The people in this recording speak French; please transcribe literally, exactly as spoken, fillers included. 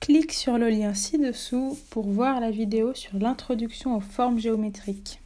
Clique sur le lien ci-dessous pour voir la vidéo sur l'introduction aux formes géométriques.